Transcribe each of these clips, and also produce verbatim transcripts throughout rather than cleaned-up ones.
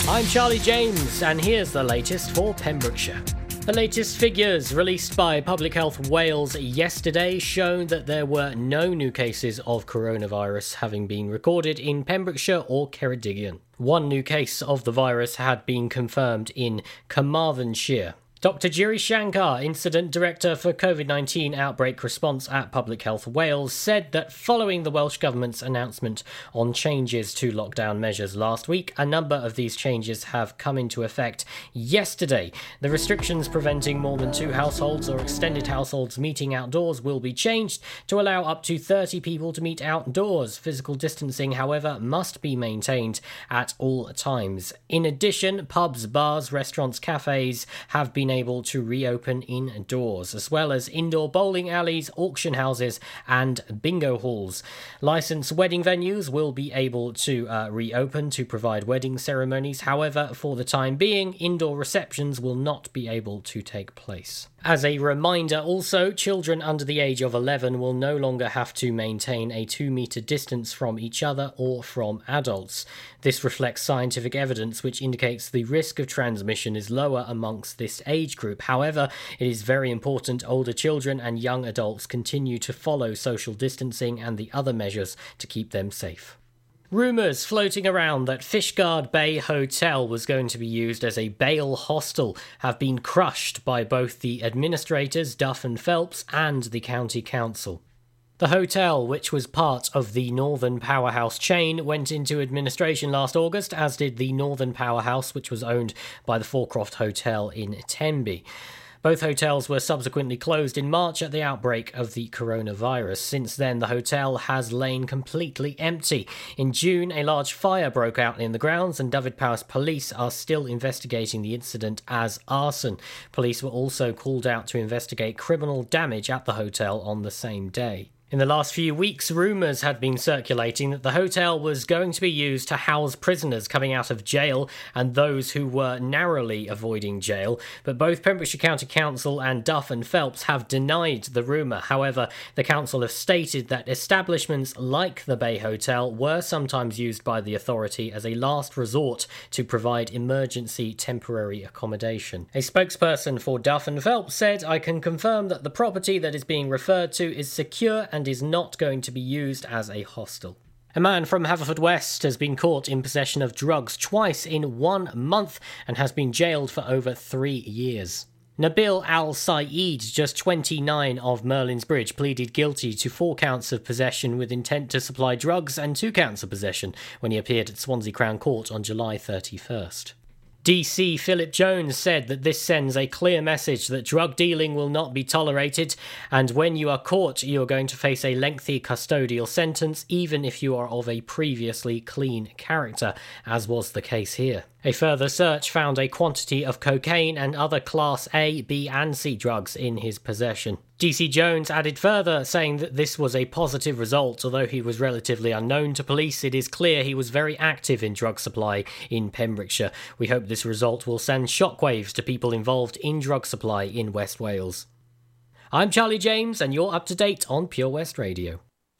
I'm Charlie James, and here's the latest for Pembrokeshire. The latest figures released by Public Health Wales yesterday show that there were no new cases of coronavirus having been recorded in Pembrokeshire or Ceredigion. One new case of the virus had been confirmed in Carmarthenshire. Doctor Giri Shankar, Incident Director for COVID nineteen Outbreak Response at Public Health Wales, said that following the Welsh Government's announcement on changes to lockdown measures last week, a number of these changes have come into effect yesterday. The restrictions preventing more than two households or extended households meeting outdoors will be changed to allow up to thirty people to meet outdoors. Physical distancing, however, must be maintained at all times. In addition, pubs, bars, restaurants, cafes have been able to reopen indoors, as well as indoor bowling alleys, auction houses and bingo halls. Licensed wedding venues will be able to uh, reopen to provide wedding ceremonies. However, for the time being, indoor receptions will not be able to take place. As a reminder also, children under the age of eleven will no longer have to maintain a two metre distance from each other or from adults. This reflects scientific evidence which indicates the risk of transmission is lower amongst this age group. However, it is very important older children and young adults continue to follow social distancing and the other measures to keep them safe. Rumours floating around that Fishguard Bay Hotel was going to be used as a bail hostel have been crushed by both the administrators, Duff and Phelps, and the County Council. The hotel, which was part of the Northern Powerhouse chain, went into administration last August, as did the Northern Powerhouse, which was owned by the Forecroft Hotel in Tenby. Both hotels were subsequently closed in March at the outbreak of the coronavirus. Since then, the hotel has lain completely empty. In June, a large fire broke out in the grounds, and Dyfed-Powys Police are still investigating the incident as arson. Police were also called out to investigate criminal damage at the hotel on the same day. In the last few weeks, rumours had been circulating that the hotel was going to be used to house prisoners coming out of jail and those who were narrowly avoiding jail, but both Pembrokeshire County Council and Duff and Phelps have denied the rumour. However, the council have stated that establishments like the Bay Hotel were sometimes used by the authority as a last resort to provide emergency temporary accommodation. A spokesperson for Duff and Phelps said, "I can confirm that the property that is being referred to is secure and and is not going to be used as a hostel." A man from Haverfordwest has been caught in possession of drugs twice in one month and has been jailed for over three years. Nabil Al-Saeed, just twenty-nine, of Merlin's Bridge, pleaded guilty to four counts of possession with intent to supply drugs and two counts of possession when he appeared at Swansea Crown Court on July thirty-first. D C Philip Jones said that this sends a clear message that drug dealing will not be tolerated, and when you are caught, you are going to face a lengthy custodial sentence, even if you are of a previously clean character, as was the case here. A further search found a quantity of cocaine and other Class A, B and C drugs in his possession. D C Jones added further, saying that this was a positive result. Although he was relatively unknown to police, it is clear he was very active in drug supply in Pembrokeshire. We hope this result will send shockwaves to people involved in drug supply in West Wales. I'm Charlie James, and you're up to date on Pure West Radio.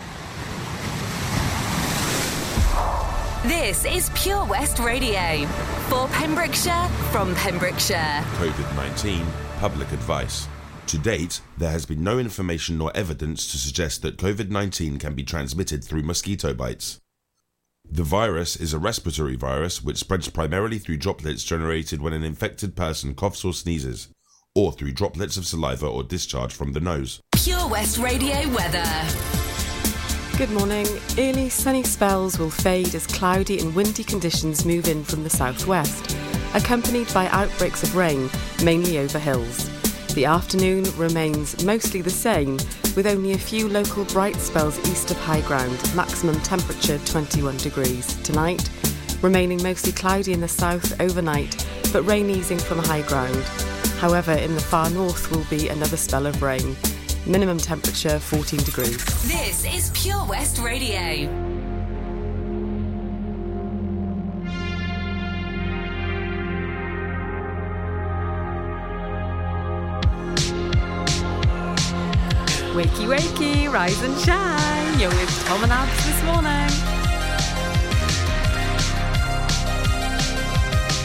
This is Pure West Radio, for Pembrokeshire, from Pembrokeshire. COVID nineteen public advice. To date, there has been no information nor evidence to suggest that COVID nineteen can be transmitted through mosquito bites. The virus is a respiratory virus which spreads primarily through droplets generated when an infected person coughs or sneezes, or through droplets of saliva or discharge from the nose. Pure West Radio weather. Good morning. Early sunny spells will fade as cloudy and windy conditions move in from the southwest, accompanied by outbreaks of rain, mainly over hills. The afternoon remains mostly the same, with only a few local bright spells east of high ground, maximum temperature twenty-one degrees. Tonight, remaining mostly cloudy in the south overnight, but rain easing from high ground. However, in the far north will be another spell of rain. Minimum temperature fourteen degrees. This is Pure West Radio. Wakey wakey, rise and shine. You're with Tom and Abs this morning.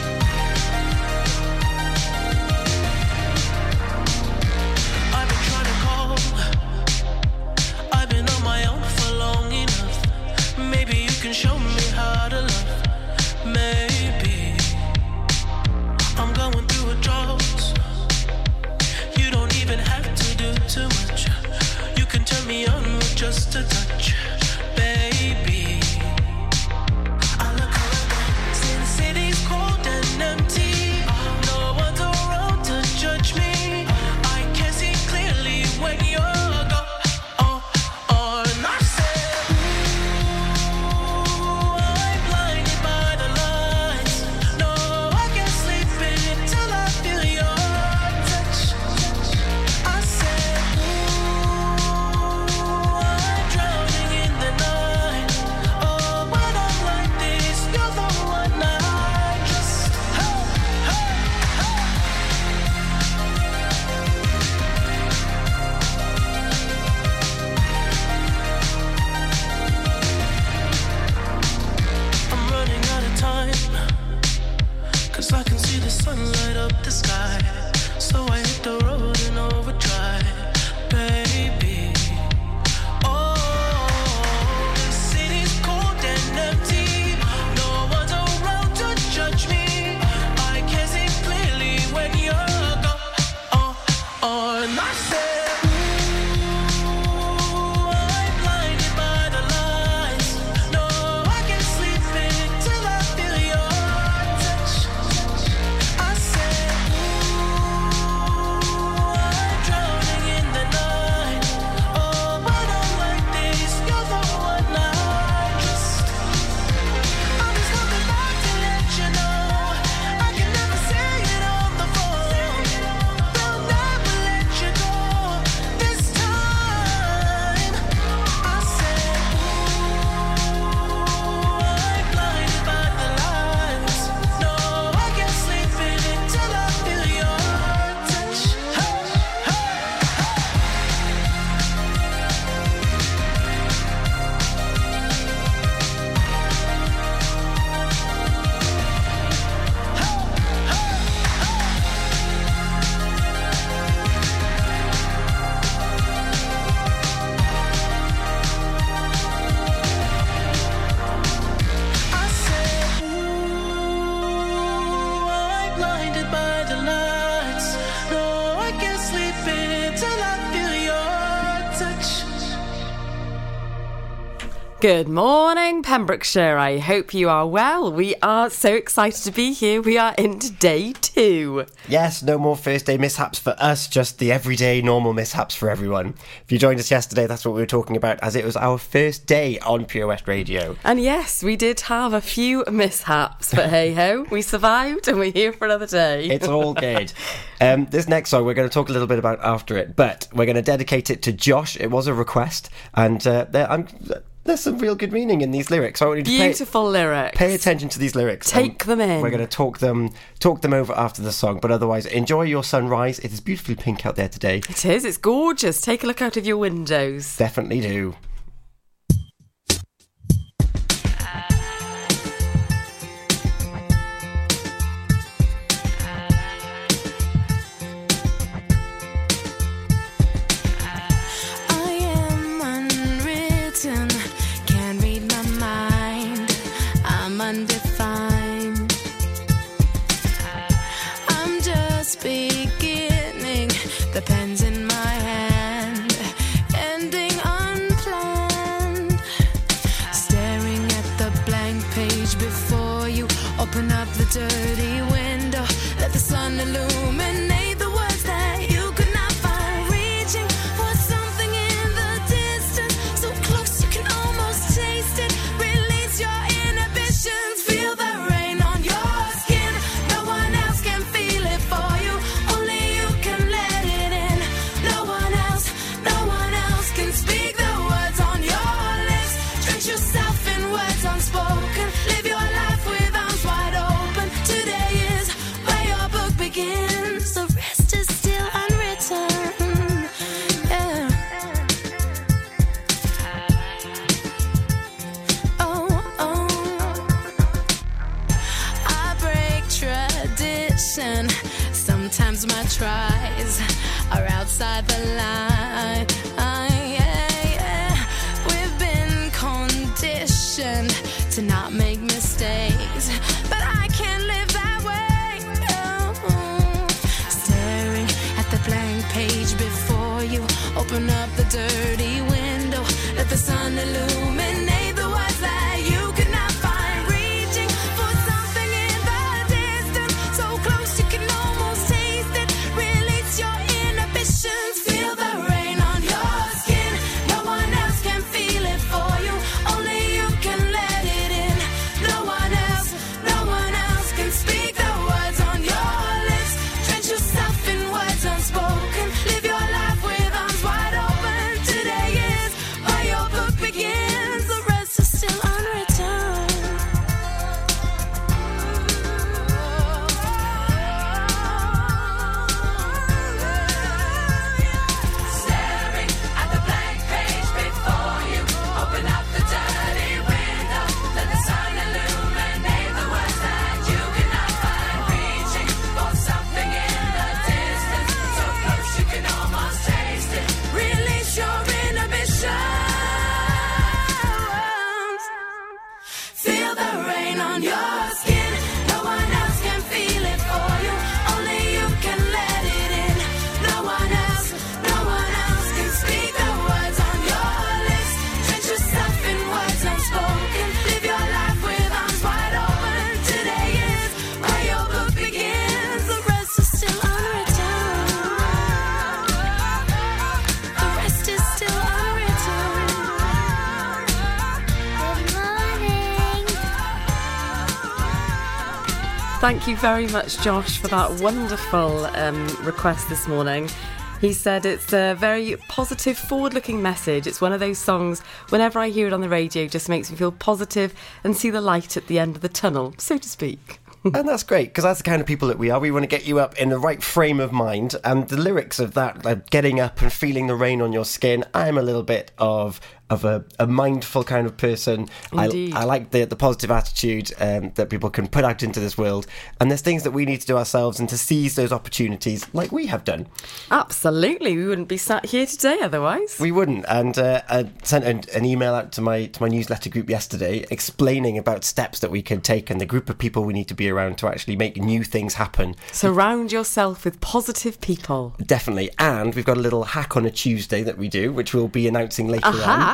Good morning, Pembrokeshire. I hope you are well. We are so excited to be here. We are into day two. Yes, no more first day mishaps for us, just the everyday normal mishaps for everyone. If you joined us yesterday, that's what we were talking about, as it was our first day on Pure West Radio. And yes, we did have a few mishaps, but hey ho, we survived and we're here for another day. It's all good. Um, this next song we're going to talk a little bit about after it, but we're going to dedicate it to Josh. It was a request, and uh, there, I'm... there's some real good meaning in these lyrics. So I want you to Beautiful pay, lyrics. Pay attention to these lyrics. Take them in. We're going to talk them talk them over after the song. But otherwise, enjoy your sunrise. It is beautifully pink out there today. It is. It's gorgeous. Take a look out of your windows. Definitely do. Undefined. I'm just beginning, the pen's in my hand, ending unplanned. Staring at the blank page before you, open up the dirty window, let the sun illuminate the words that you could not find. Reaching for something in the distance, so close you can almost taste it. Release your feel the rain on your skin. No one else can feel it for you. Only you can let it in. No one else, no one else can speak the words on your lips. Drench yourself in words unspoken. Live your life with arms wide open. Today is where your book begins. The rest is still unwritten. Yeah. Oh, oh. Tradition. Sometimes my tries are outside the line. Yeah, yeah. We've been conditioned to not make mistakes, but I can't live that way. No. Staring at the blank page before you, open up the dirty window, let the sun illuminate the words that you could not find. Reaching for something in the distance, so close you can almost taste it. Release your inhibitions. Feel the rain on your skin. No one else can feel it for you. Only you can let it in. No one else, no one else can speak the words on your lips. Drench yourself in words unspoken. Live your life with arms wide open. Today is where your book begins. The rest is still unwritten. Staring at the blank page before you, open up the dirty window, let the sun illuminate the words that you cannot find. Reaching for something in the distance, so close you can almost taste it. Release your inhibitions. Feel the rain on your skin. No one else can feel it for you. Only you can let it in. No one else, no one else can speak the words on your lips. Drench yourself in words unspoken. Live your life with arms wide open. Today is where your book begins. The rest is still unwritten. The rest is still unwritten. Good morning. Thank you very much, Josh, for that wonderful um, request this morning. He said it's a very positive, forward-looking message. It's one of those songs, whenever I hear it on the radio, just makes me feel positive and see the light at the end of the tunnel, so to speak. And that's great, because that's the kind of people that we are. We want to get you up in the right frame of mind. And the lyrics of that, like getting up and feeling the rain on your skin, I'm a little bit of of a, a mindful kind of person. Indeed. I, I like the, the positive attitude um, that people can put out into this world. And there's things that we need to do ourselves and to seize those opportunities like we have done. Absolutely. We wouldn't be sat here today otherwise. We wouldn't. And uh, I sent an, an email out to my to my newsletter group yesterday explaining about steps that we can take and the group of people we need to be around to actually make new things happen. Surround yourself with positive people. Definitely. And we've got a little hack on a Tuesday that we do, which we'll be announcing later a on. Hack?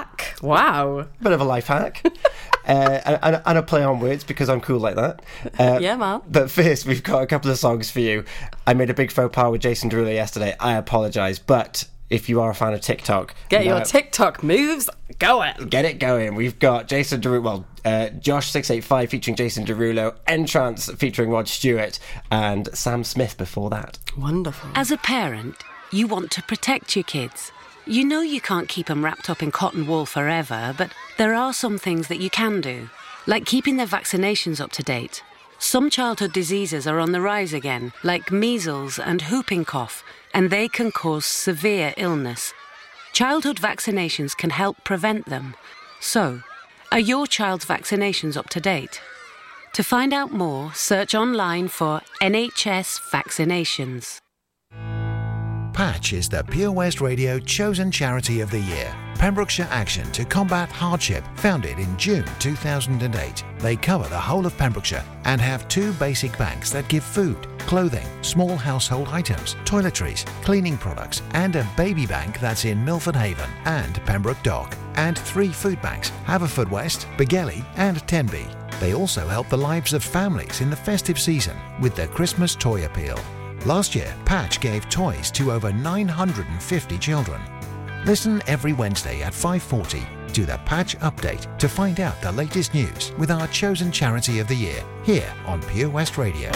hack. Wow. Bit of a life hack. uh, and, and a play on words because I'm cool like that. Uh, yeah, man. But first, we've got a couple of songs for you. I made a big faux pas with Jason Derulo yesterday. I apologise. But if you are a fan of TikTok... Get now, your TikTok moves going. Get it going. We've got Jason Derulo... Well, uh, Josh six eight five featuring Jason Derulo, Entrance featuring Rod Stewart, and Sam Smith before that. Wonderful. As a parent, you want to protect your kids. You know you can't keep them wrapped up in cotton wool forever, but there are some things that you can do, like keeping their vaccinations up to date. Some childhood diseases are on the rise again, like measles and whooping cough, and they can cause severe illness. Childhood vaccinations can help prevent them. So, are your child's vaccinations up to date? To find out more, search online for N H S vaccinations. Patch is the Pure West Radio chosen charity of the year. Pembrokeshire Action to Combat Hardship, founded in June two thousand eight. They cover the whole of Pembrokeshire and have two basic banks that give food, clothing, small household items, toiletries, cleaning products, and a baby bank that's in Milford Haven and Pembroke Dock. And three food banks, Haverfordwest, Begelly and Tenby. They also help the lives of families in the festive season with their Christmas toy appeal. Last year, Patch gave toys to over nine hundred fifty children. Listen every Wednesday at five forty to the Patch Update to find out the latest news with our chosen charity of the year here on Pure West Radio.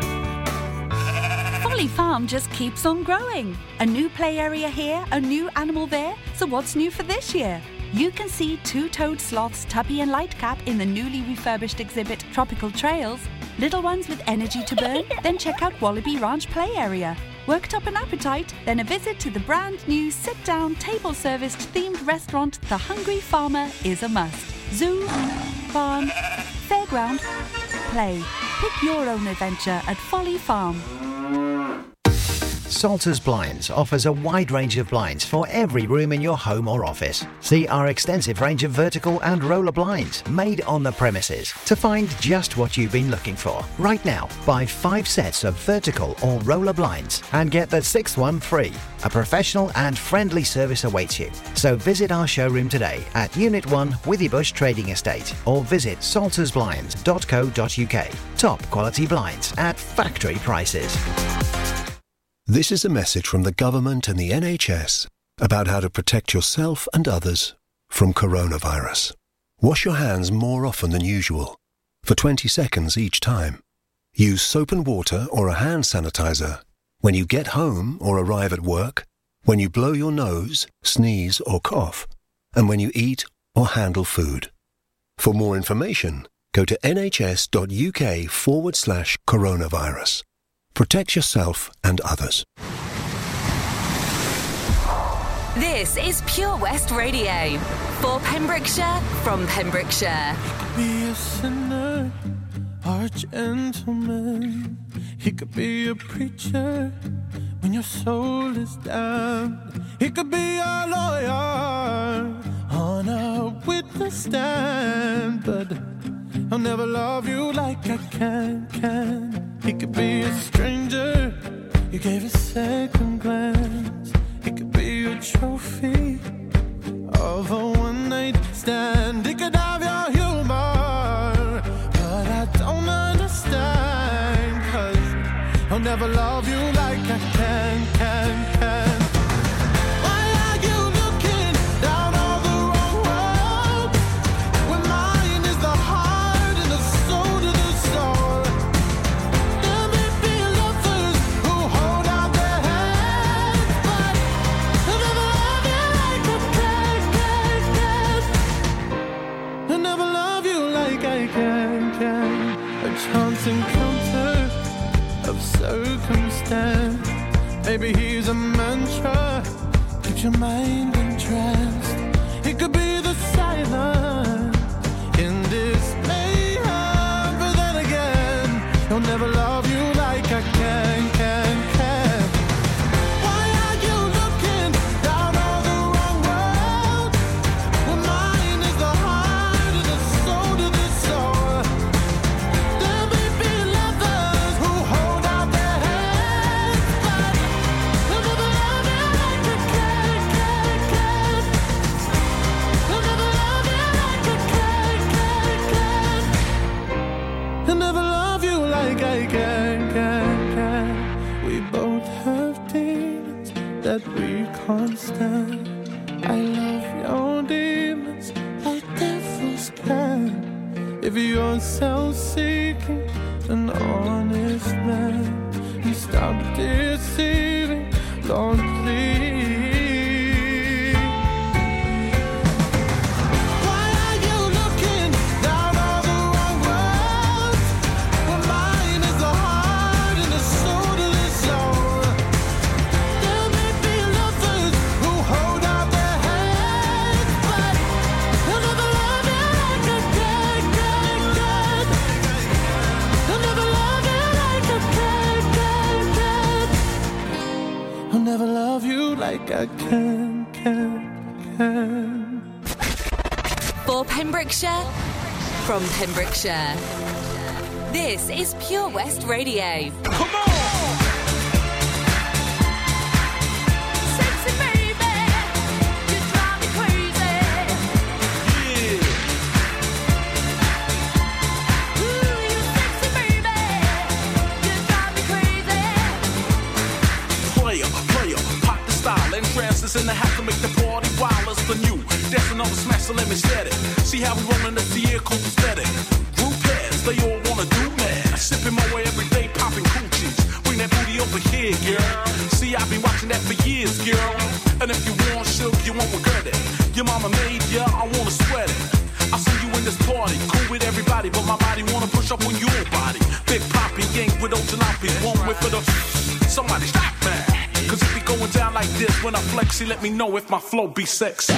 Folly Farm just keeps on growing. A new play area here, a new animal there. So what's new for this year? You can see two-toed sloths Tubby and Lightcap in the newly refurbished exhibit Tropical Trails. Little ones with energy to burn? Then check out Wallaby Ranch play area. Worked up an appetite? Then a visit to the brand new sit-down, table-serviced themed restaurant The Hungry Farmer is a must. Zoo, farm, fairground, play. Pick your own adventure at Folly Farm. Salters Blinds offers a wide range of blinds for every room in your home or office. See our extensive range of vertical and roller blinds made on the premises to find just what you've been looking for. Right now, buy five sets of vertical or roller blinds and get the sixth one free. A professional and friendly service awaits you. So visit our showroom today at Unit one Withybush Trading Estate or visit salters blinds dot co dot uk. Top quality blinds at factory prices. This is a message from the government and the N H S about how to protect yourself and others from coronavirus. Wash your hands more often than usual, for twenty seconds each time. Use soap and water or a hand sanitizer when you get home or arrive at work, when you blow your nose, sneeze or cough, and when you eat or handle food. For more information, go to nhs.uk forward slash coronavirus. Protect yourself and others. This is Pure West Radio. For Pembrokeshire, from Pembrokeshire. Be a sinner or a gentleman. He could be a preacher when your soul is down. He could be a lawyer on a witness stand. But I'll never love you like I can, can. He could be a stranger you gave a second glance. He could be a trophy of a one-night stand. He could have your humor, but I don't understand, 'cause I'll never love you like I can, can, can. Encounter of circumstance. Maybe he's a mantra, keeps your mind entranced. It could be the silence in this mayhem, but then again, he'll never love you like I can, can, can. Why are you looking down on the wrong road? Well, mine is the heart and the soul to the soul. I'll never love you like I can, can, can. We both have demons that we can't stand. I love your demons like devils can. If you're self-seeking, an honest man, and stop deceiving, Lord, please. Never love you like I can, can, can. For Pembrokeshire, from Pembrokeshire, this is Pure West Radio. Come on! Sexy baby, you drive me crazy. Yeah. Ooh, you sexy baby, you drive me crazy. Player, player, pop the style, entrances in the house to make the party wild as the new. Dancing on the smash, so let me set it. See how we rollin' up the air, cool aesthetic. Group heads, they all wanna do mad. Sipping my way every day, popping coochies. Bring that booty over here, girl. See, I've been watching that for years, girl. And if you want silk, you won't regret it. Your mama made ya, I wanna sweat it. I see you in this party, cool with everybody, but my body wanna push up on your body. Big Poppy, gang with those jalopies, one whip for the. Somebody stop that. Cause if we going down like this, when I flex, let me know if my flow be sexy.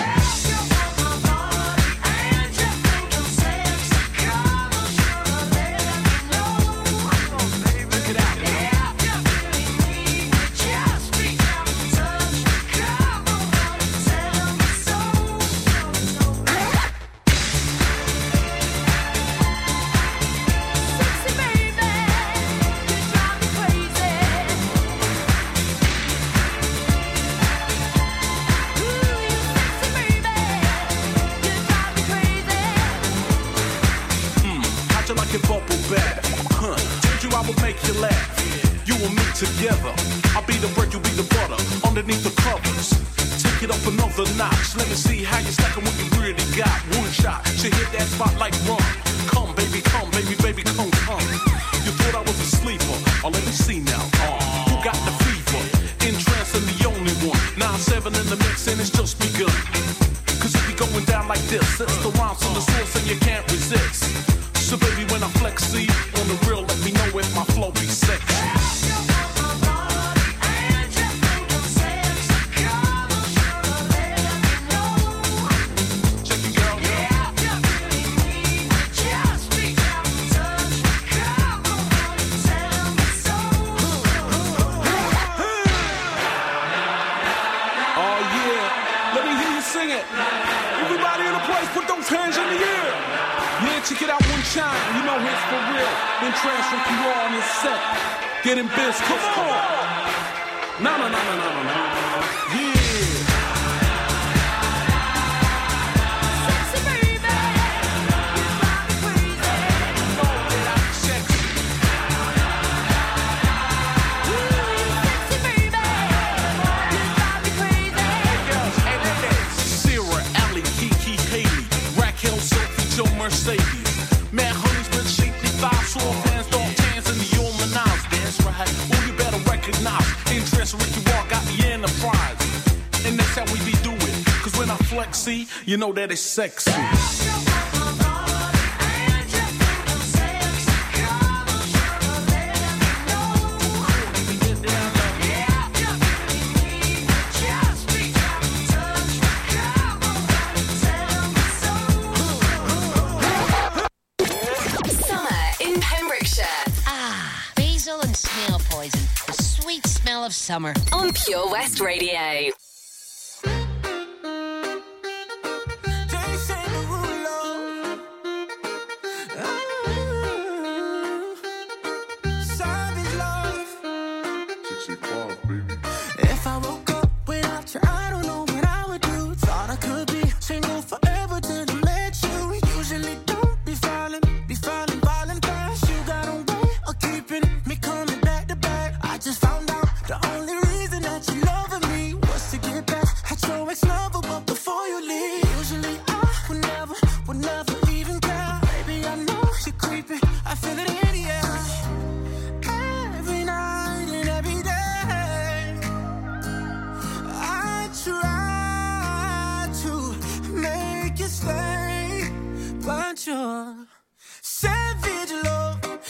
Together, I'll be the bread, you be the butter. Underneath the covers, take it up another notch. Let me see how you stacking what you really got. One shot, she hit that spot like run. Come, baby, come, baby, baby, come, come. You thought I was a sleeper? Oh, let me see now. Uh, who got the fever? Entrance and the only one. Nine seven in the mix and it's just begun. Cause if we going down like this, it's the rhymes on the source and you can't resist. So baby, when I flex, see on the real, let me know if my flow be sexy. Check it out one time, you know it's for real. Then transfer P R on this set. Getting biz, come on. No, no, no, no, no, no, no. Yeah. Sexy baby, you drive me crazy. You know that I'm sexy. Ooh, sexy baby, you drive me crazy. Hey girls, hey ladies. Sarah, Allie, Kiki, Haley, Raquel, Sophie, Joe, Mercedes. Mad honeys with shapely thighs, soft hands, dark tans, and the old menage. That's right. Oh, you better recognize. Interest Ricky Walk got the enterprise. And that's how we be doing. Cause when I flex, see, you know that it's sexy. Of summer on Pure West Radio. If I woke up without you, I don't know what I would do. Thought I could be single forever till I met you. Usually don't be falling, be falling, falling fast. You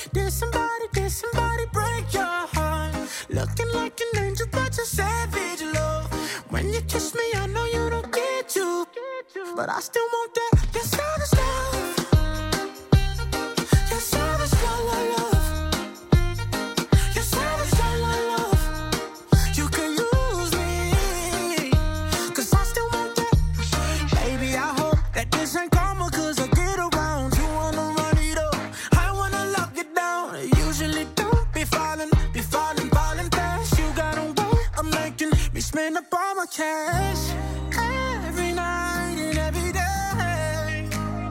Did somebody, did somebody break your heart? Looking like an angel, but you're savage, love. When you kiss me, I know you don't get to, but I still want that. You're savage love. You're savage love, love, love. You're savage love, love, love. You can use me, cause I still want that. Baby, I hope that this ain't karma, cause I get around. You wanna run it up, I wanna lock it down. Usually don't be falling, be falling, falling fast. You got a way of making me spend up all my cash. Every night and every day,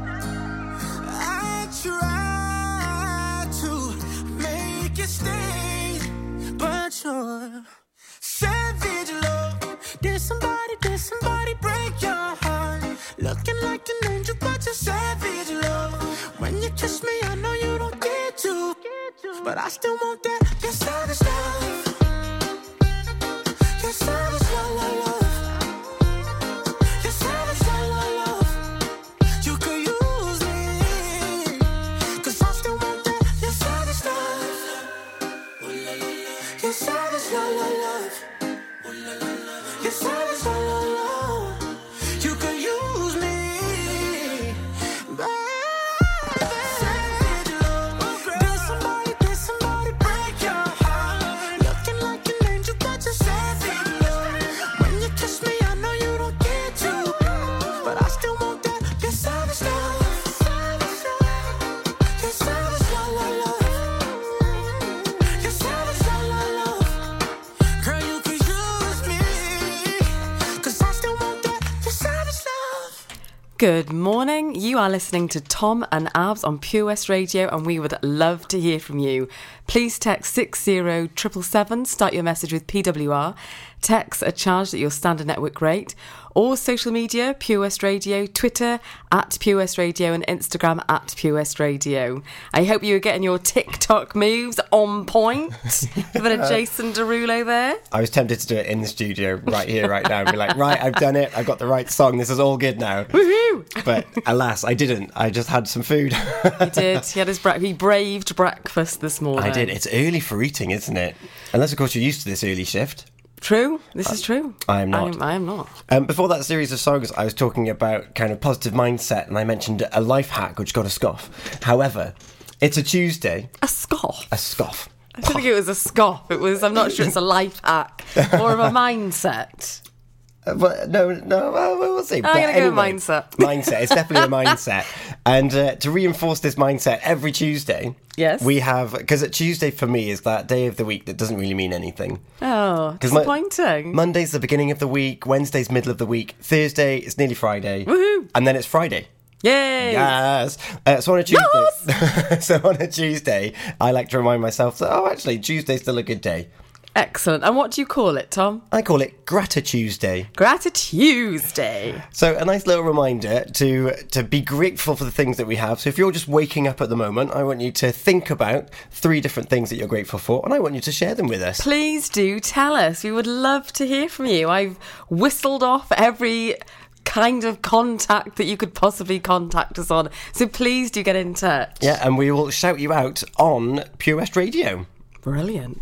I try to make you stay, but you're savage love. Did somebody, did somebody break your heart? Looking like an angel, but you're savage love. When you kiss me, I know you don't get to, but I still want that. You're savage love. You're savage love, love, love. You're savage love, love, love. You could use me, cause I still want that. You're savage love. You're savage love, love, love. You're savage love, love, love. You could use me, baby. Savage love. Did somebody, did somebody break your heart? Looking like an angel, but you're savage love. When you kiss me, I know you don't get to, but I still want that. You're savage love. You're savage love, love, love. You're savage love, love, love. Girl, you could use me, cause I still want that. You're savage love. Good morning. You are listening to Tom and Abs on Pure West Radio, and we would love to hear from you. Please text six zero seven seven, start your message with P W R. Texts are charged at your standard network rate. Or social media, Pure West Radio, Twitter at Pure West Radio, and Instagram at Pure West Radio. I hope you were getting your TikTok moves on point. A bit of Jason Derulo there. I was tempted to do it in the studio right here, right now, and be like, right, I've done it. I've got the right song. This is all good now. Woohoo! But alas, I didn't. I just had some food. He did. He had his bra- he braved breakfast this morning. I did. It's early for eating, isn't it? Unless, of course, you're used to this early shift. True. This is true. I am not. I am, I am not. Um, before that series of songs, I was talking about kind of positive mindset, and I mentioned a life hack which got a scoff. However, it's a Tuesday. A scoff? A scoff. I don't think it was a scoff. It was, I'm not sure it's a life hack. More of a mindset. Uh, but no, no, well, we'll see. I'm But going to go anyway, with mindset. Mindset. It's definitely a mindset. And uh, to reinforce this mindset, every Tuesday, yes, we have, because Tuesday for me is that day of the week that doesn't really mean anything. Oh, disappointing. My, Monday's the beginning of the week, Wednesday's middle of the week, Thursday it's nearly Friday. Woohoo! And then it's Friday. Yay! Yes. Uh, so on a Tuesday, yes! so on a Tuesday, I like to remind myself that, oh, actually, Tuesday's still a good day. Excellent. And what do you call it, Tom? I call it Gratituesday. Gratituesday. So a nice little reminder to to be grateful for the things that we have. So if you're just waking up at the moment, I want you to think about three different things that you're grateful for, and I want you to share them with us. Please do tell us. We would love to hear from you. I've whistled off every kind of contact that you could possibly contact us on. So please do get in touch. Yeah, and we will shout you out on Pure West Radio. Brilliant.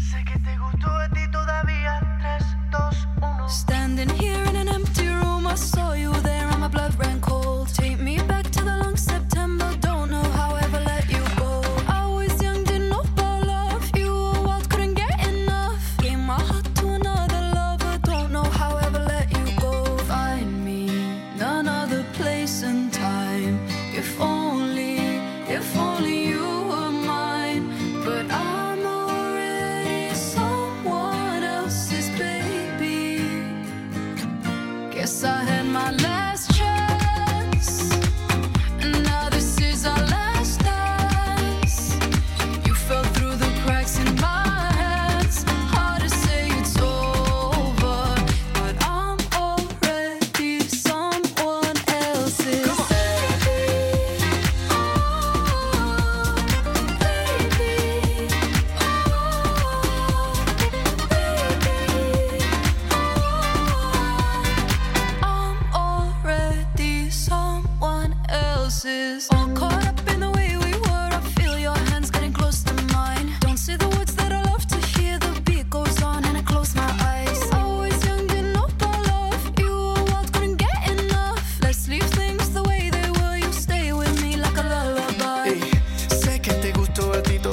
Standing here in an empty room, I saw you there and my blood ran cold. Take me back to the long September, don't know how I ever let you go. I was young, didn't know about love, you were wild, couldn't get enough. Gave my heart to another lover, don't know how I ever let you go. Find me another place and time, if only, if only you were mine. But I'm already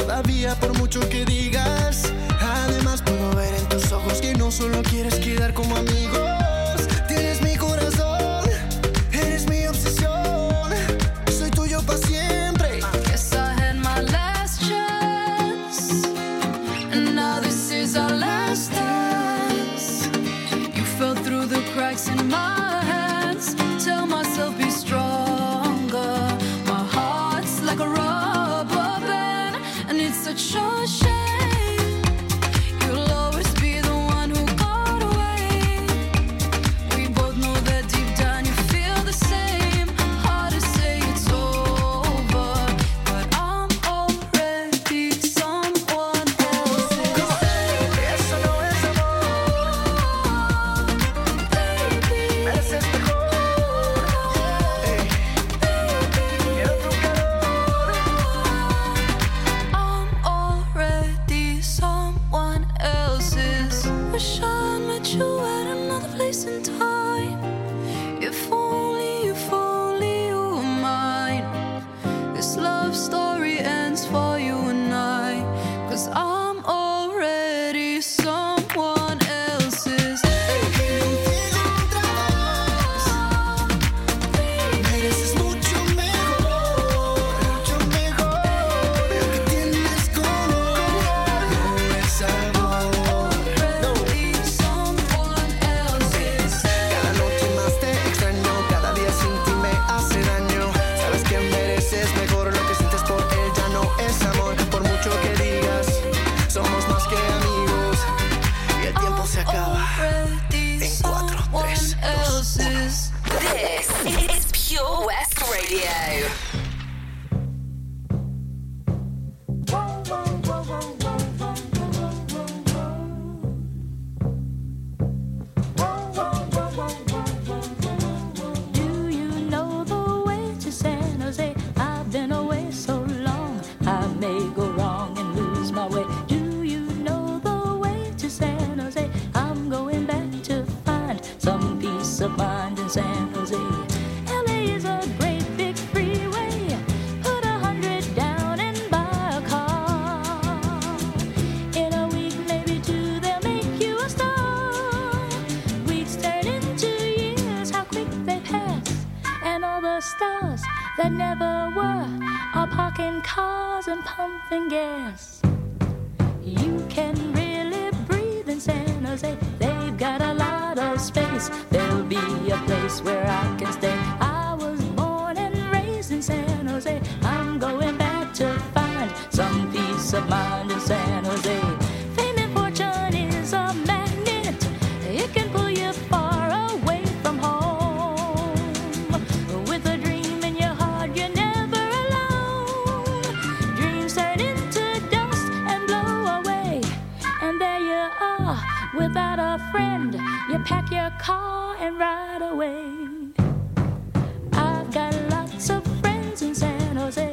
todavía por mucho que digas. Además puedo ver en tus ojos que no solo quieres quedar como amigos. Tienes mi corazón, eres mi obsesión. Soy tuyo para siempre. Guess I had my last chance, and now this is our last dance. You fell through the cracks in my hands. Tell myself be stronger. My heart's like a rubber band, and it's such a shame. You'll always be the one who got away. We both know that deep down you feel the same. Hard to say it's over, but I'm already someone else's. Eso no es amor, baby. Mereces mejor. Hey. Quiero tu calor. I'm already someone else's. Wish I met you at another place and time. If only, if only you were mine. This love story ends for you and I, 'cause I'm already someone else's. Mereces mucho mejor, mucho mejor. Lo que tienes color no es amor. Already someone else's. Cada noche más te extraño, cada día sin ti me hace daño. Sabes que mereces mejor, lo que sientes por él ya no es amor. Por mucho que digas, somos más que amigos. Y el tiempo se acaba en cuatro, tres, dos, uno. This is Pure West Radio. Do you know the way to San Jose? I've been away so long, I may go wrong and lose my way. Do you know the way to San Jose? I'm going back to find some peace of mind in San Jose. L A is a great big freeway. Put a hundred down and buy a car. In a week, maybe two, they'll make you a star. Weeks turn into years, how quick they pass. And all the stars that never were are parking cars and pumping gas. You can really breathe in San Jose. They've got a lot of space. There'll be a place where I can stay. I was born and raised in San Jose. I'm going back to find some peace of mind in San Jose. Fame and fortune is a magnet. It can pull you far away from home. With a dream in your heart, you're never alone. Dreams turn into dust and blow away. And there you are, without a friend. You pack your car and ride away. I've got lots of friends in San Jose.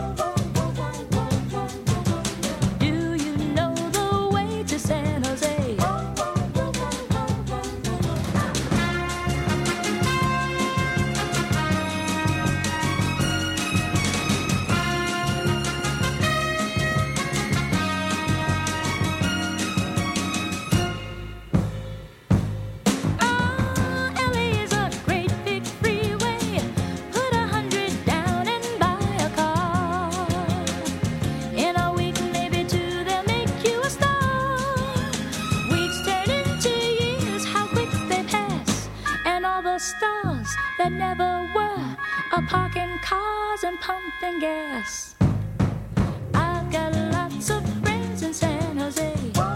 Do you know the way to San Jose? L A is a great big freeway. Put a hundred down and buy a car. In a week, maybe two, they'll make you a star. Weeks turn into years, how quick they pass. And all the stars that never were are parking cars and pumping gas. I've got lots of friends in San Jose.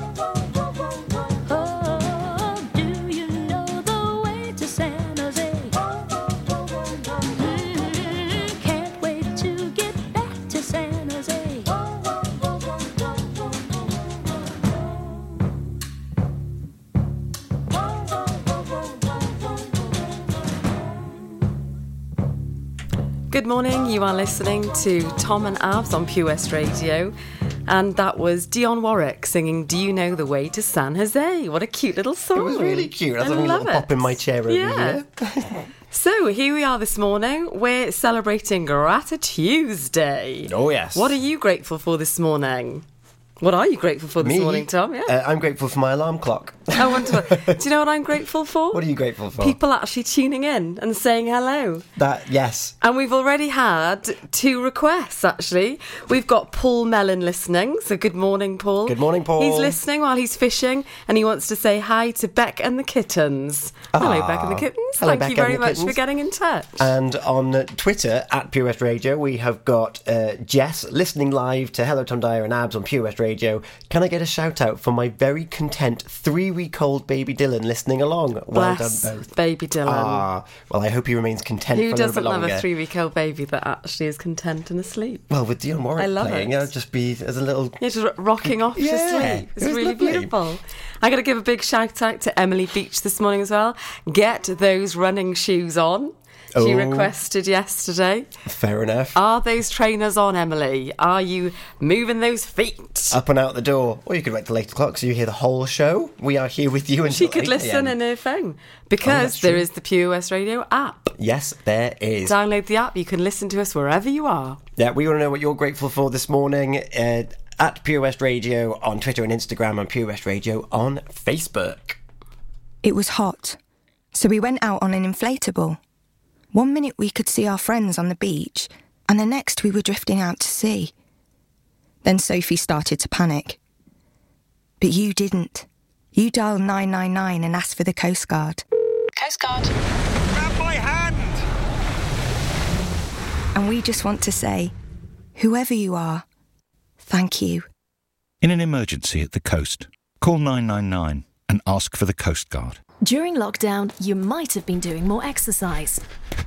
Oh, do you know the way to San Jose? Mm, can't wait to get back to San Jose. Good morning, you are listening to Tom and Avs on Pure West Radio, and that was Dionne Warwick singing Do You Know the Way to San Jose? What a cute little song. It was really cute. I was I having a love little it. pop in my chair over Yeah. here. So here we are this morning. We're celebrating Gratitude. Oh, yes. What are you grateful for this morning? What are you grateful for this Me? morning, Tom? Yeah. Uh, I'm grateful for my alarm clock. Oh, wonderful. Do you know what I'm grateful for? What are you grateful for? People actually tuning in and saying hello. That, yes. And we've already had two requests, actually. We've got Paul Mellon listening. So good morning, Paul. Good morning, Paul. He's listening while he's fishing and he wants to say hi to Beck and the Kittens. Hello, Ah. Beck and the Kittens. Hello, Thank Beck you very and the much Kittens. for getting in touch. And on uh, Twitter, at Pure West Radio, we have got uh, Jess listening live to Hello Tom Dyer and Abs on Pure West Radio. Can I get a shout out for my very content three-week-old baby Dylan listening along? Well Bless done both. baby Dylan. Ah, well, I hope he remains content Who for a little doesn't bit love longer. a three-week-old baby that actually is content and asleep? Well, with Dion Warwick I love playing, it. it'll just be as a little... Yeah, just rocking off Yeah, to sleep. It's it was really lovely. beautiful. I got to give a big shout out to Emily Beach this morning as well. Get those running shoes on. She Oh. requested yesterday. Fair enough. Are those trainers on, Emily? Are you moving those feet? Up and out the door. Or you could wait till eight o'clock so you hear the whole show. We are here with you until She could eight listen a m. in her phone Oh, because that's there true. is the Pure West Radio app. Yes, there is. Download the app. You can listen to us wherever you are. Yeah, we want to know what you're grateful for this morning. Uh, at Pure West Radio on Twitter and Instagram, and Pure West Radio on Facebook. It was hot, so we went out on an inflatable. One minute we could see our friends on the beach, and the next we were drifting out to sea. Then Sophie started to panic. But you didn't. You dialed nine nine nine and asked for the Coast Guard. Coast Guard. Grab my hand! And we just want to say, whoever you are, thank you. In an emergency at the coast, call nine nine nine and ask for the Coast Guard. During lockdown, you might have been doing more exercise.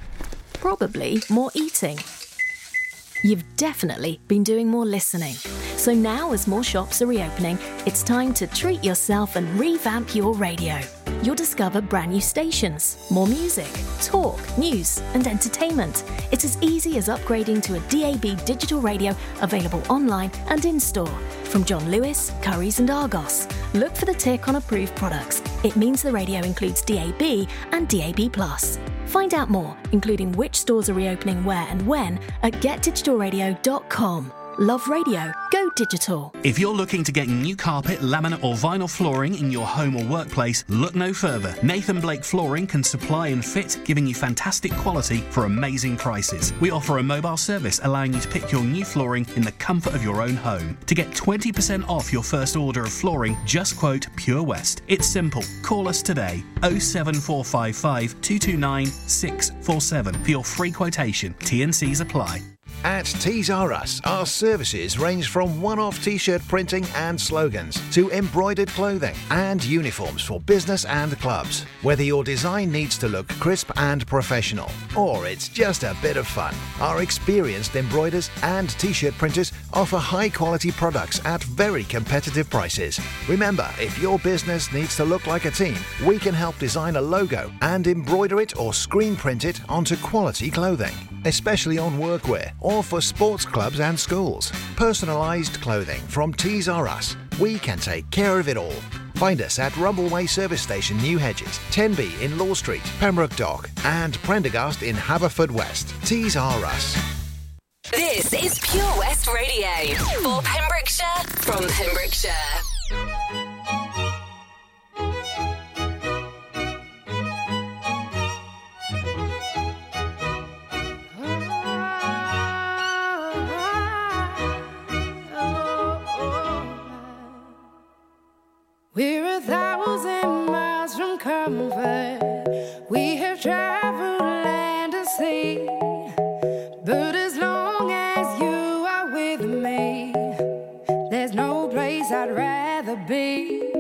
Probably more eating. You've definitely been doing more listening. So now, as more shops are reopening, it's time to treat yourself and revamp your radio. You'll discover brand new stations, more music, talk, news, and entertainment. It's as easy as upgrading to a D A B digital radio available online and in-store. From John Lewis, Currys and Argos. Look for the tick on approved products. It means the radio includes D A B and D A B plus. Find out more, including which stores are reopening where and when, at get digital radio dot com. Love radio. Go digital. If you're looking to get new carpet, laminate or vinyl flooring in your home or workplace, look no further. Nathan Blake Flooring can supply and fit, giving you fantastic quality for amazing prices. We offer a mobile service allowing you to pick your new flooring in the comfort of your own home. To get twenty percent off your first order of flooring, just quote Pure West. It's simple. Call us today. oh seven four five five, two two nine, six four seven for your free quotation. T and Cs apply. At Tees R Us, our services range from one-off t-shirt printing and slogans to embroidered clothing and uniforms for business and clubs. Whether your design needs to look crisp and professional, or it's just a bit of fun, our experienced embroiders and t-shirt printers offer high-quality products at very competitive prices. Remember, if your business needs to look like a team, we can help design a logo and embroider it or screen print it onto quality clothing, especially on workwear or for sports clubs and schools. Personalised clothing from Tees R Us. We can take care of it all. Find us at Rumbleway Service Station, New Hedges, ten B in Law Street, Pembroke Dock, and Prendergast in Haverfordwest. Tees R Us. This is Pure West Radio for Pembrokeshire from Pembrokeshire. We're a thousand miles from comfort. We have traveled land and sea. But as long as you are with me, there's no place I'd rather be.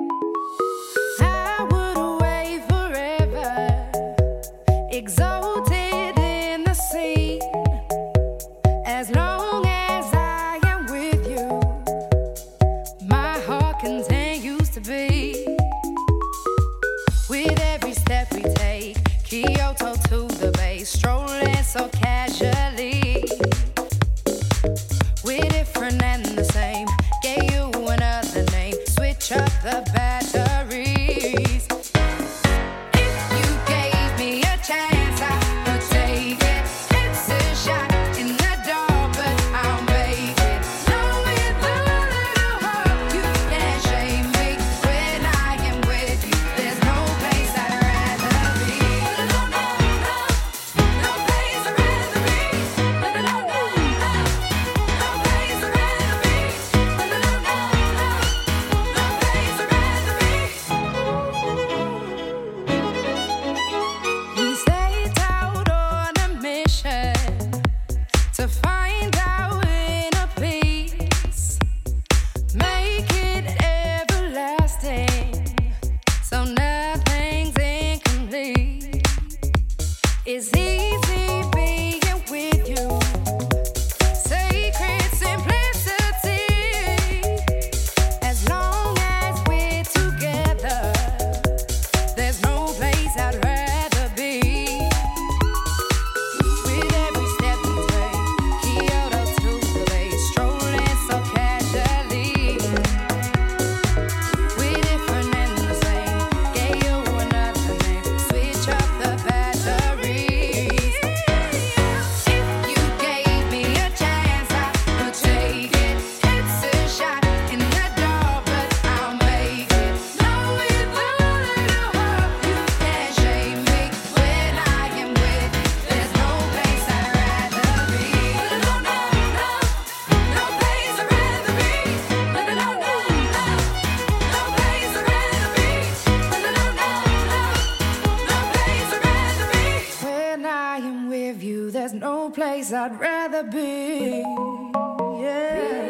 I would away forever, exalted in the sea. As long as I am with you, my heart continues to beat. With every step we take, Kyoto to the bay, strolling so casually. We're different and the same, gave you another name, switch up place I'd rather be. Yeah.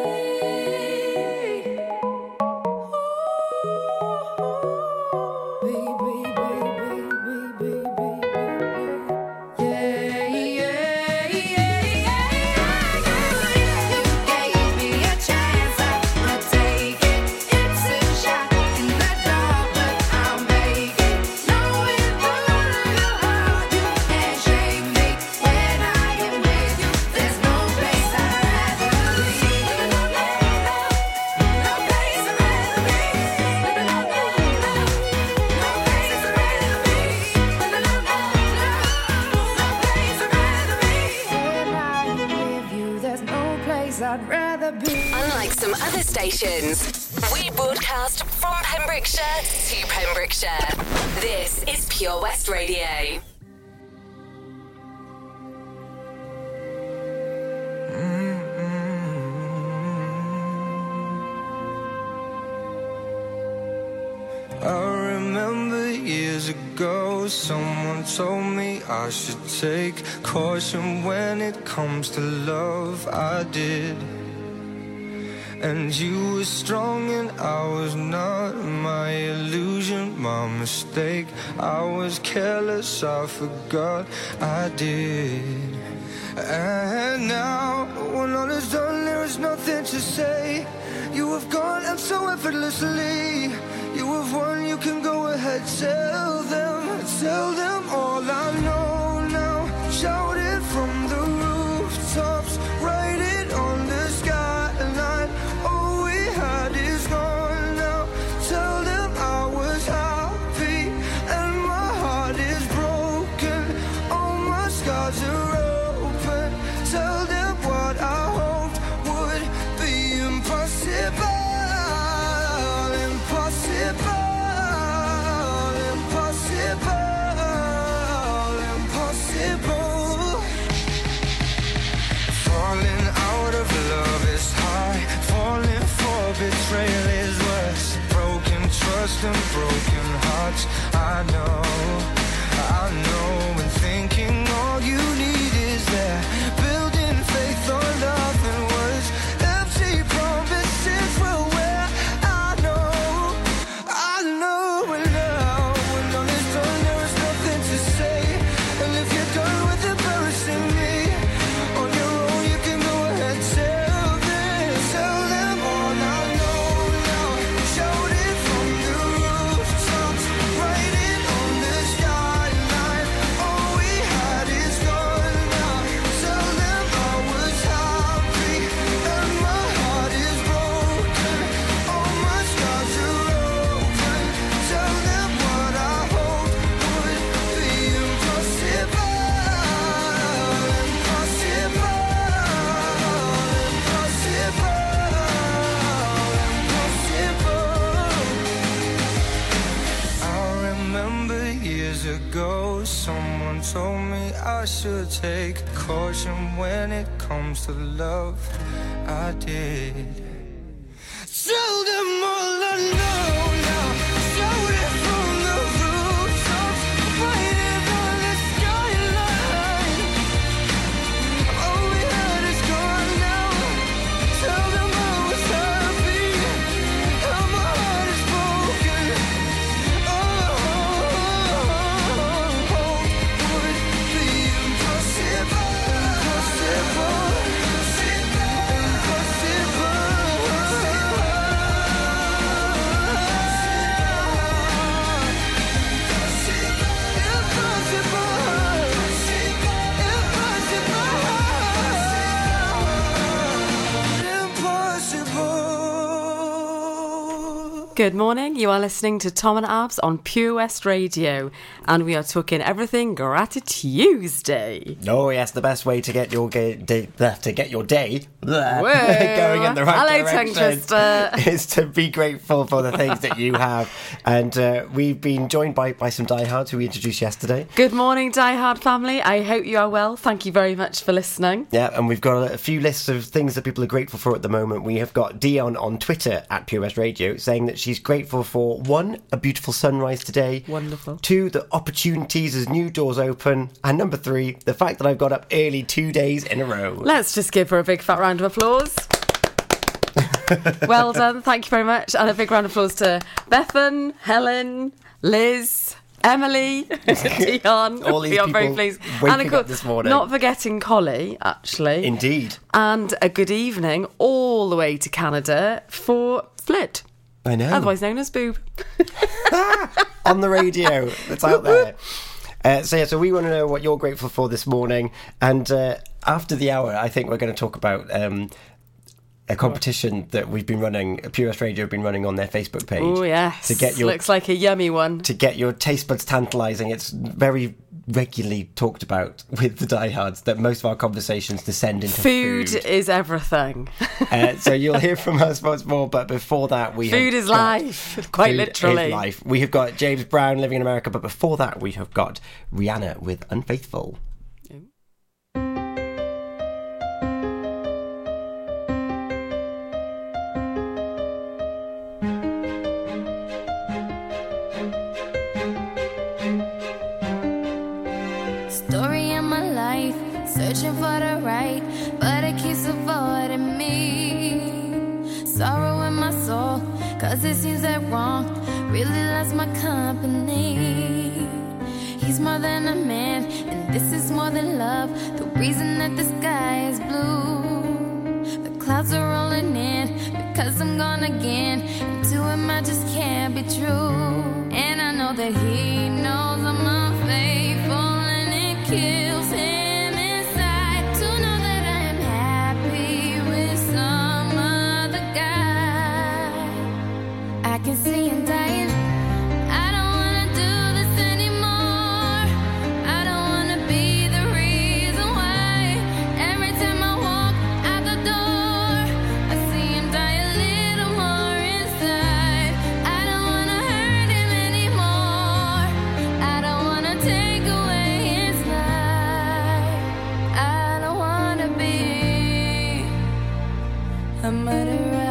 Unlike some other stations, we broadcast from Pembrokeshire to Pembrokeshire. This is Pure West Radio. I remember years ago, someone told me I should take caution when it comes to love. I did. And you were strong and I was not. My illusion, my mistake. I was careless, I forgot I did. And now, when all is done, there is nothing to say. You have gone and so effortlessly. You have won, you can go ahead, tell them, tell them all I know now. Shout it from the rooftops, write it on the skyline. All we had is gone now. Tell them I was happy and my heart is broken. All my scars are open. Tell them what I hoped would be impossible. Betrayal is worse. Broken trust and broken hearts. I know, I know. And thinking all you need is there. Building faith on love and words. Empty promises will wear. I know, I know. And now, when all is done, there is nothing to say. And if you're done with embarrassing me, on your own you can go ahead. Tell them, tell them all I. Someone told me I should take caution when it comes to love. I did. Tell them all I know now. Shout it from the rooftops, write it on the skyline. All we had is gone now. Tell them I was happy and my heart is broken. Oh, Good morning, you are listening to Tom and Abs on Pure West Radio, and we are talking everything Gratitude Tuesday. Oh yes, the best way to get your ga- day, uh, to get your day uh, Whoa. going in the right Hello, direction tongue twister. is to be grateful for the things that you have. And uh, we've been joined by, by some diehards who we introduced yesterday. Good morning, diehard family. I hope you are well. Thank you very much for listening. Yeah, and we've got a, a few lists of things that people are grateful for at the moment. We have got Dion on Twitter at Pure West Radio saying that she's grateful for, one, a beautiful sunrise today. Wonderful. Two, the opportunities as new doors open. And number three, the fact that I've got up early two days in a row. Let's just give her a big fat round of applause. Well done. Thank you very much. And a big round of applause to Bethan, Helen, Liz, Emily, Dion. All these we are people very pleased. waking And of course, up this morning. not forgetting Collie, actually. Indeed. And a good evening all the way to Canada for Flit. I know. Otherwise known as Boob. On the radio. It's out there. Uh, so, yeah, so we want to know what you're grateful for this morning. And uh, after the hour, I think we're going to talk about um, a competition that we've been running, Pure West Radio have been running on their Facebook page. Oh, yes. To get your, Looks like a yummy one. To get your taste buds tantalising. It's very regularly talked about with the diehards that most of our conversations descend into food. Food is everything. uh, so you'll hear from us once more, but before that we Food have is got, life, quite food literally. Is life. We have got James Brown, Living in America, but before that we have got Rihanna with Unfaithful. Searching for the right, but it keeps avoiding me. Sorrow in my soul, cause it seems that wrong really loves my company. He's more than a man, and this is more than love. The reason that the sky is blue. The clouds are rolling in, because I'm gone again. And to him I just can't be true. And I know that he knows I'm unfaithful, and it kills him. I can see him dying. I don't wanna do this anymore. I don't wanna be the reason why. Every time I walk out the door, I see him die a little more inside. I don't wanna hurt him anymore. I don't wanna take away his life. I don't wanna be a murderer.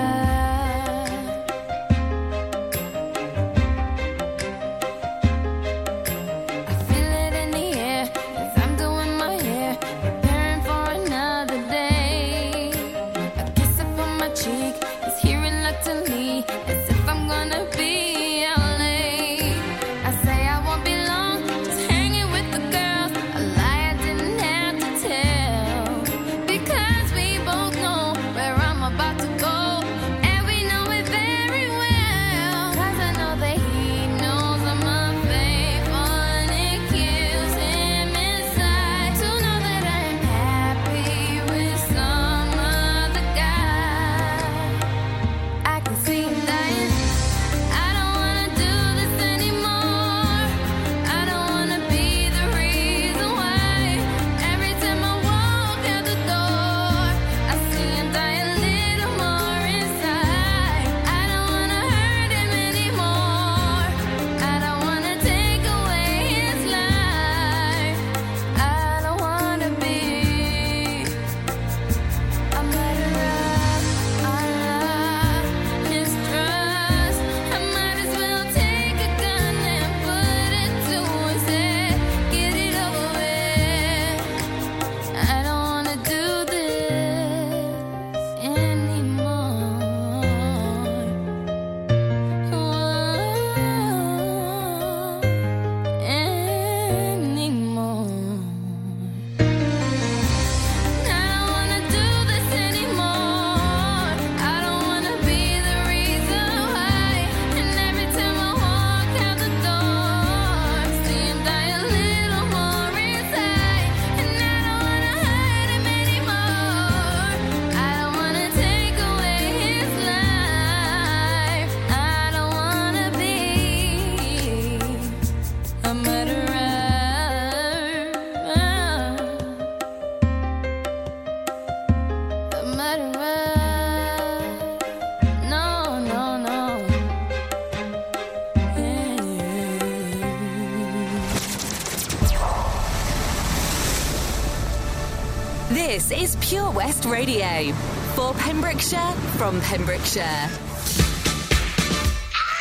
This is Pure West Radio for Pembrokeshire from Pembrokeshire.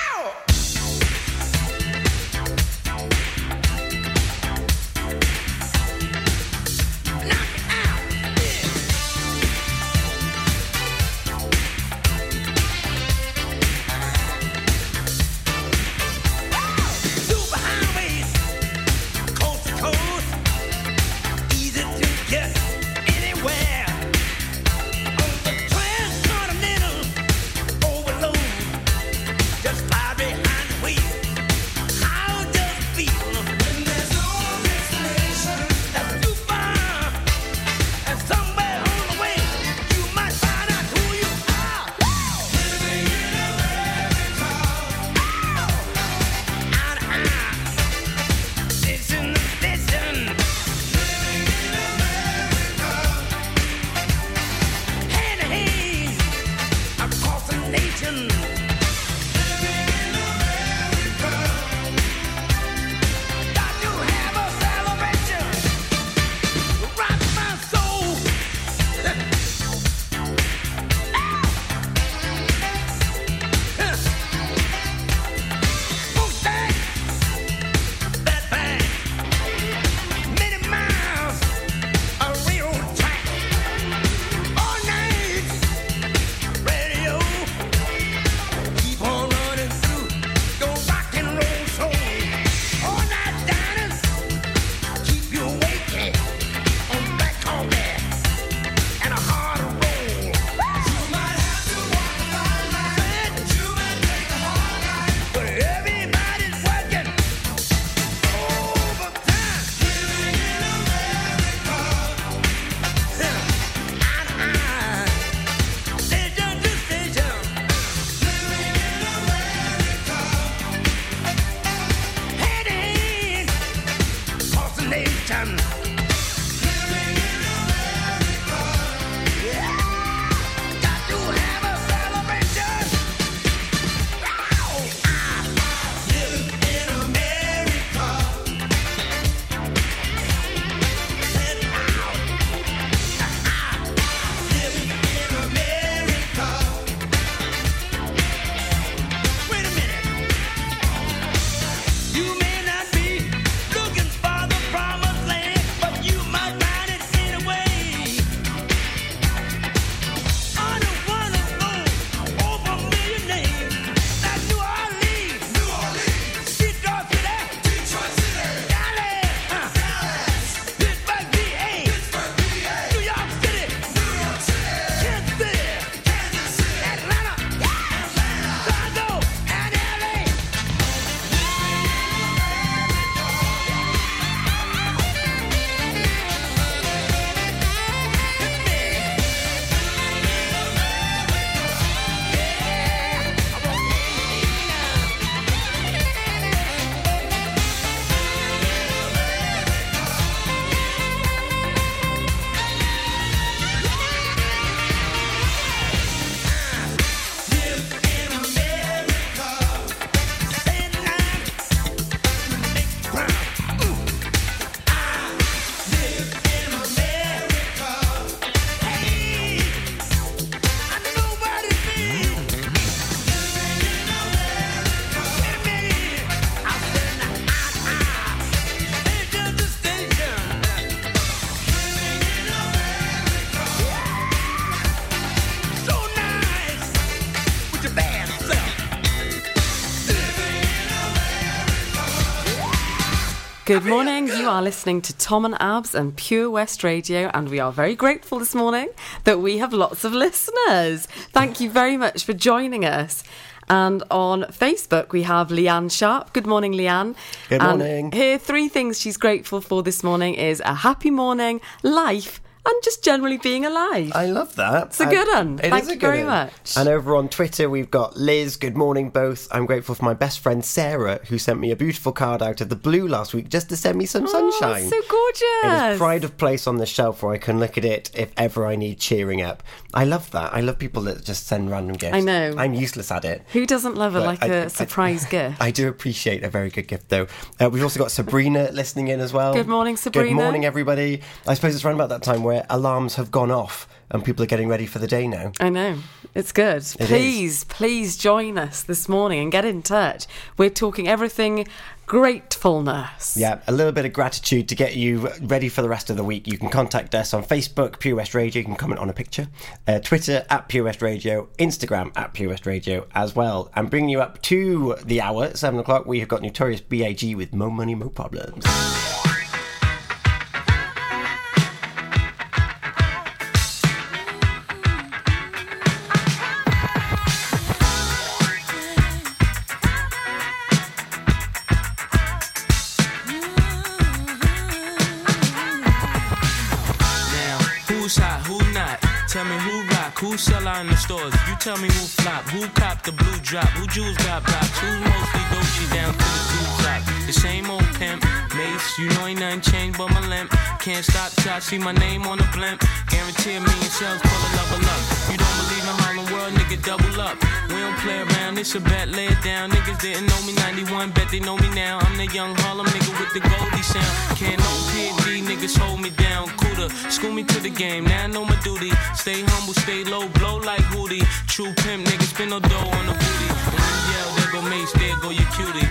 nation. Good morning, you are listening to Tom and Abs and Pure West Radio, and we are very grateful this morning that we have lots of listeners. Thank you very much for joining us. And on Facebook we have Leanne Sharp. Good morning, Leanne. Good and morning. Here, three things she's grateful for this morning is a happy morning, life, and just generally being alive. I love that. It's a good one. It Thank is a you good very one. much. And over on Twitter, we've got Liz. Good morning, both. I'm grateful for my best friend Sarah, who sent me a beautiful card out of the blue last week just to send me some Oh, sunshine. so gorgeous. It is pride of place on the shelf where I can look at it if ever I need cheering up. I love that. I love people that just send random gifts. I know. I'm useless at it. Who doesn't love it But like I- a I- surprise gift? I do appreciate a very good gift, though. Uh, we've also got Sabrina listening in as well. Good morning, Sabrina. Good morning, everybody. I suppose it's around about that time where alarms have gone off and people are getting ready for the day now. I know. It's good. It please, is. please join us this morning and get in touch. We're talking everything gratefulness. Yeah, a little bit of gratitude to get you ready for the rest of the week. You can contact us on Facebook, Pure West Radio. You can comment on a picture. Uh, Twitter, at Pure West Radio. Instagram, at Pure West Radio as well. And bringing you up to the hour, at seven o'clock, we have got Notorious B I G with Mo Money, Mo Problems. Who's hot, who not? Tell me who rock, who sell out in the stores. You tell me who flop, who cop the blue drop, who jewels got blocks, who's mostly Dolce down to the blue top. The same old pimp, Mace, you know ain't nothing changed but my limp. Can't stop till I see my name on the blimp. Guarantee a million sales, pull a level up. You don't believe in Harlem World, nigga, double up. We don't don't play around, it's a bet, lay it down. Niggas didn't know me ninety-one, bet they know me now. I'm the young Harlem nigga with the Goldie sound. Can't no P and D, niggas hold me down. Cooler, school me to the game, now I know my duty. Stay humble, stay low, blow like Hootie. True pimp, niggas spin no dough on the booty. When you yell, there go Mace, there go your cutie.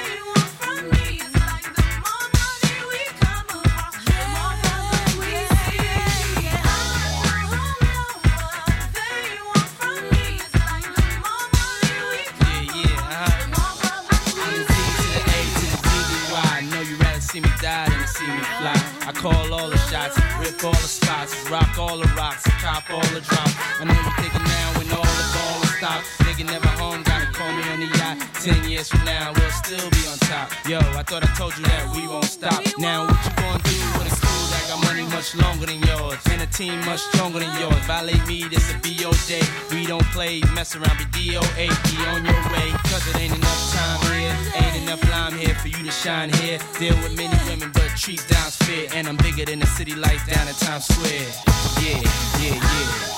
See me die than to see me fly. I call all the shots, rip all the spots, rock all the rocks, cop all the drops. I know you thinking now when all the ball is stopped. Nigga never home, gotta call me on the yacht. Ten years from now, we'll still be on top. Yo, I thought I told you that we won't stop. Now what you gonna do with a crew that got money much longer than yours, and a team much stronger than yours? Violate me, this a B O day. We don't play, mess around, be D O A. Be on your way, cause it ain't enough time here. Ain't enough lime here for you to shine here. Deal with many women, but treat down's fair. And I'm bigger than the city lights down in Times Square. Yeah, yeah, yeah.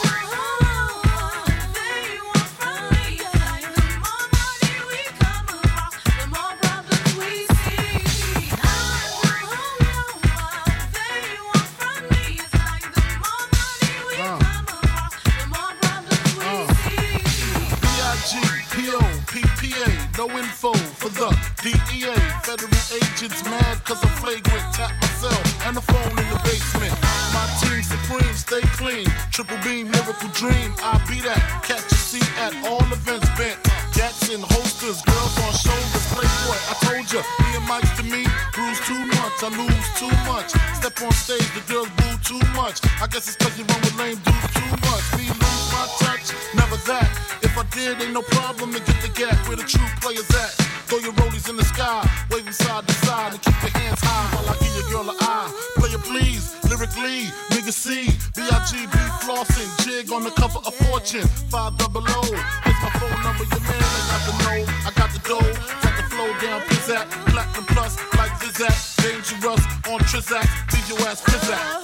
No info for the D E A. Federal agents mad cause I'm flagrant. Tap myself and the phone in the basement. My team supreme, stay clean. Triple beam, miracle dream. I be that. Catch a seat at all events bent. Jackson holsters, girls on shoulders. Playboy, I told ya. Me and Mike's to me, bruise too much. I lose too much. Step on stage, the girls boo too much. I guess it's cause you run with lame dudes too much. Me lose my touch, never that. If I did, ain't no problem to get the gap where the true players at. Throw your rollies in the sky, waving side to side, and keep your hands high while I give your girl an eye. Play it please, lyrically, nigga C, B I G B flossing, jig on the cover of Fortune, five double O. Here's my phone number, your man ain't got the know, I got the dough, got the flow down, pizzazz, platinum plus, like Zizak, dangerous on Trizak, leave your ass pizzazz.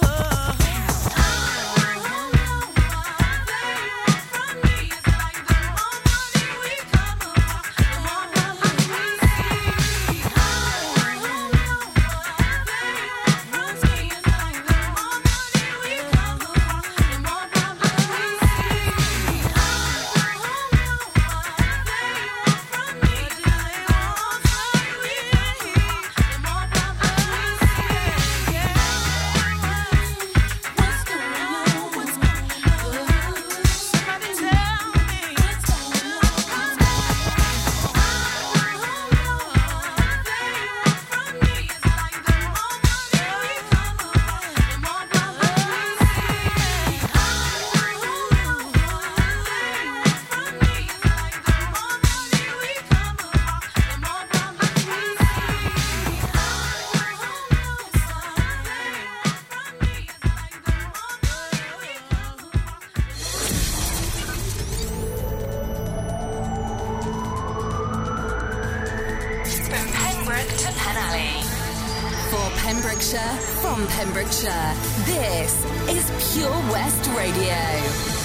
Pembrokeshire, from Pembrokeshire, this is Pure West Radio.